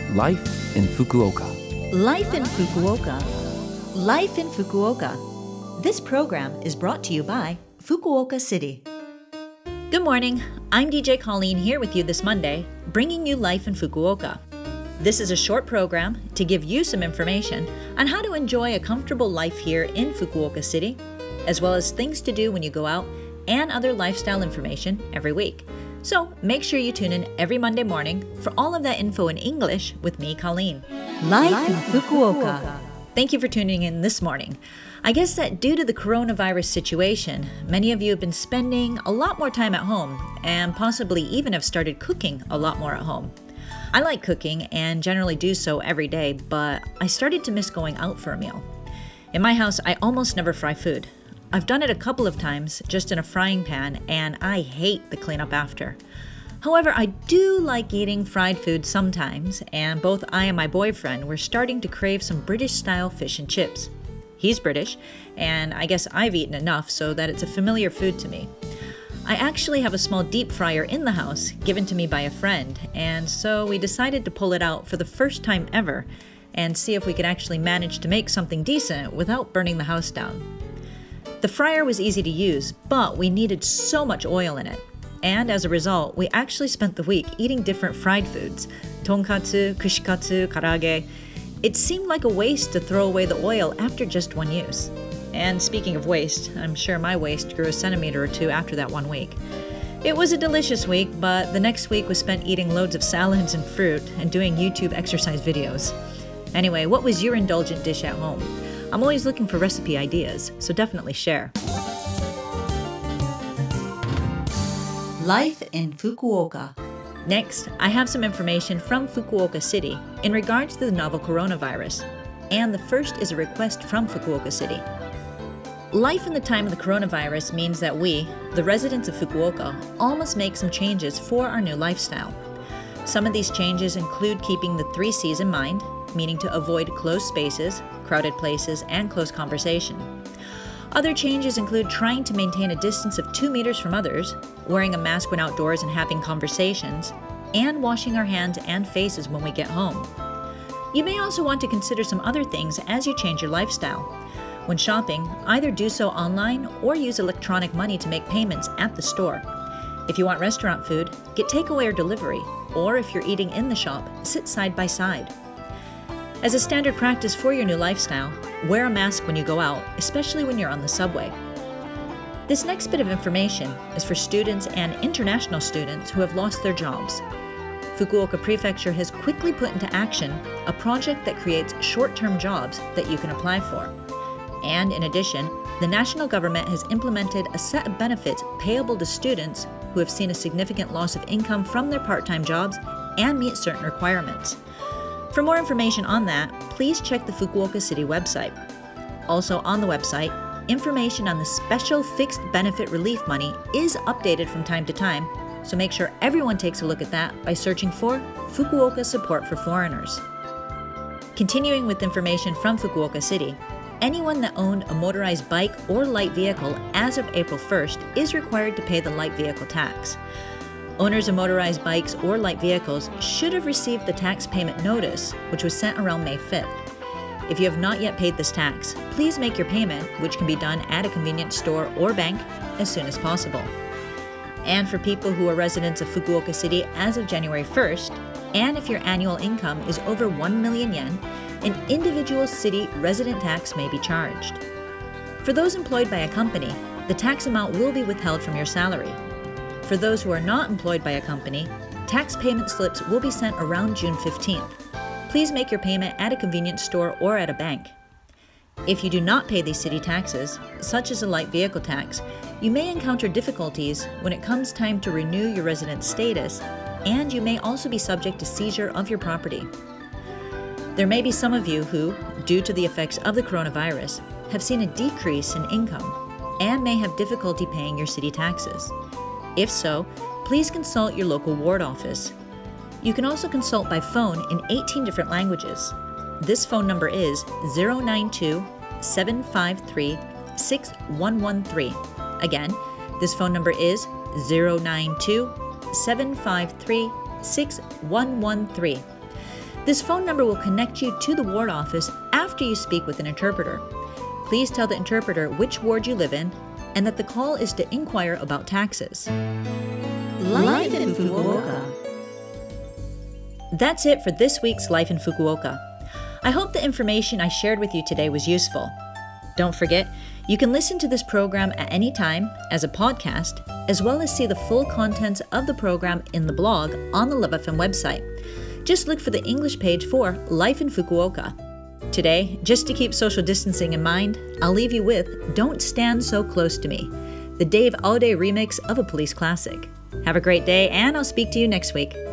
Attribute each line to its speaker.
Speaker 1: Life in Fukuoka.
Speaker 2: Life in Fukuoka. Life in Fukuoka. This program is brought to you by Fukuoka City. Good morning. I'm DJ Colleen here with you this Monday, bringing you Life in Fukuoka. This is a short program to give you some information on how to enjoy a comfortable life here in Fukuoka City, as well as things to do when you go out and other lifestyle information every week. So make sure you tune in every Monday morning for all of that info in English with me, Colleen. Life in Fukuoka. Thank you for tuning in this morning. I guess that due to the coronavirus situation, many of you have been spending a lot more time at home and possibly even have started cooking a lot more at home. I like cooking and generally do so every day, but I started to miss going out for a meal. In my house, I almost never fry food. I've done it a couple of times just in a frying pan, and I hate the cleanup after. However, I do like eating fried food sometimes, and both I and my boyfriend were starting to crave some British-style fish and chips. He's British, and I guess I've eaten enough so that it's a familiar food to me. I actually have a small deep fryer in the house given to me by a friend, and so we decided to pull it out for the first time ever and see if we could actually manage to make something decent without burning the house down. The fryer was easy to use, but we needed so much oil in it. And as a result, we actually spent the week eating different fried foods, tonkatsu, kushikatsu, karaage. It seemed like a waste to throw away the oil after just one use. And speaking of waste, I'm sure my waist grew a centimeter or two after that 1 week. It was a delicious week, but the next week was spent eating loads of salads and fruit and doing YouTube exercise videos. Anyway, what was your indulgent dish at home? I'm always looking for recipe ideas, so definitely share. Life in Fukuoka. Next, I have some information from Fukuoka City in regards to the novel coronavirus. And the first is a request from Fukuoka City. Life in the time of the coronavirus means that we, the residents of Fukuoka, all must make some changes for our new lifestyle. Some of these changes include keeping the 3 C's in mind, meaning to avoid closed spaces, crowded places, and close conversation. Other changes include trying to maintain a distance of 2 meters from others, wearing a mask when outdoors and having conversations, and washing our hands and faces when we get home. You may also want to consider some other things as you change your lifestyle. When shopping, either do so online or use electronic money to make payments at the store. If you want restaurant food, get takeaway or delivery, or if you're eating in the shop, sit side by side. As a standard practice for your new lifestyle, wear a mask when you go out, especially when you're on the subway. This next bit of information is for students and international students who have lost their jobs. Fukuoka Prefecture has quickly put into action a project that creates short-term jobs that you can apply for. And in addition, the national government has implemented a set of benefits payable to students who have seen a significant loss of income from their part-time jobs and meet certain requirements. For more information on that, please check the Fukuoka City website. Also on the website, information on the special fixed benefit relief money is updated from time to time, so make sure everyone takes a look at that by searching for Fukuoka Support for Foreigners. Continuing with information from Fukuoka City, anyone that owned a motorized bike or light vehicle as of April 1st is required to pay the light vehicle tax. Owners of motorized bikes or light vehicles should have received the tax payment notice, which was sent around May 5th. If you have not yet paid this tax, please make your payment, which can be done at a convenience store or bank, as soon as possible. And for people who are residents of Fukuoka City as of January 1st, and if your annual income is over 1 million yen, an individual city resident tax may be charged. For those employed by a company, the tax amount will be withheld from your salary. For those who are not employed by a company, tax payment slips will be sent around June 15th. Please make your payment at a convenience store or at a bank. If you do not pay these city taxes, such as a light vehicle tax, you may encounter difficulties when it comes time to renew your resident status, and you may also be subject to seizure of your property. There may be some of you who, due to the effects of the coronavirus, have seen a decrease in income and may have difficulty paying your city taxes. If so, please consult your local ward office. You can also consult by phone in 18 different languages. This phone number is 092-753-6113. Again, this phone number is 092-753-6113. This phone number will connect you to the ward office after you speak with an interpreter. Please tell the interpreter which ward you live in and that the call is to inquire about taxes.
Speaker 1: Life in Fukuoka.
Speaker 2: That's it for this week's Life in Fukuoka. I hope the information I shared with you today was useful. Don't forget, you can listen to this program at any time as a podcast, as well as see the full contents of the program in the blog on the Love FM website. Just look for the English page for Life in Fukuoka. Today, just to keep social distancing in mind, I'll leave you with Don't Stand So Close to Me, the Dave Aude remix of a police classic. Have a great day, and I'll speak to you next week.